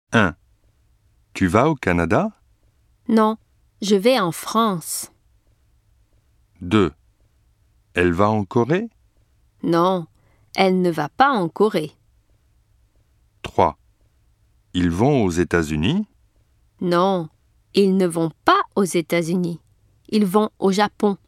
1. Tu vas au Canada? Non, je vais en France. 2. Elle va en Corée? Non, elle ne va pas en Corée. 3. Ils vont aux États-Unis? Non, ils ne vont pas aux États-Unis. Ils vont au Japon.